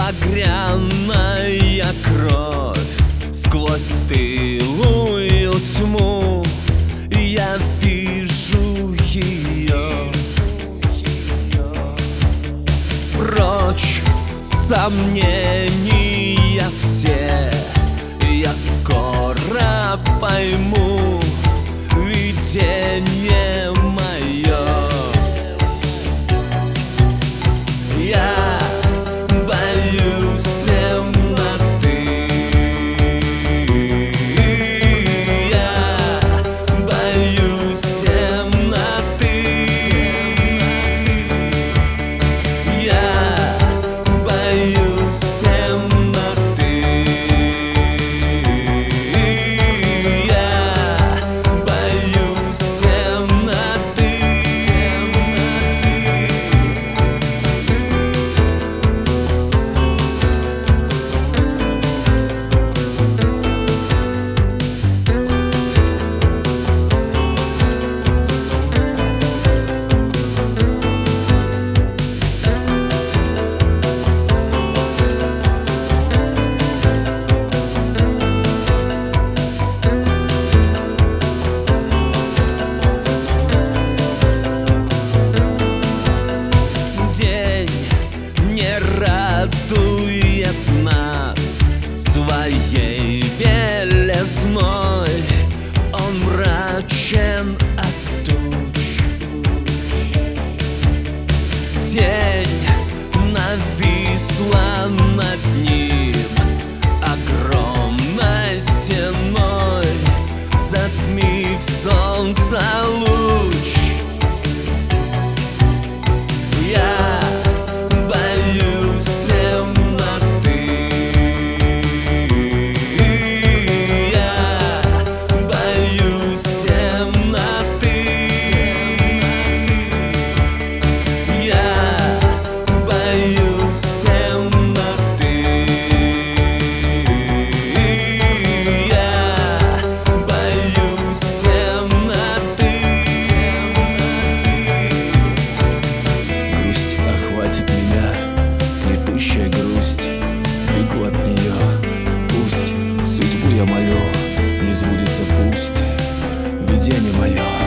багряная кровь. Сквозь стылую тьму я вижу ее. Прочь сомнения все, я скоро пойму видение мое. Я боюсь темноты, я боюсь темноты, я боюсь темноты, я боюсь темноты. Радует нас своей белизной, он мрачен от туч. Тень нависла над ним огромной стеной, затмив солнца луч. Я боюсь темноты, я боюсь темноты, я боюсь темноты, я боюсь темноты. Грусть охватит меня, гнетущая грусть, бегу от нее. Пусть судьбу я молю, не сбудется, пусть видение мое.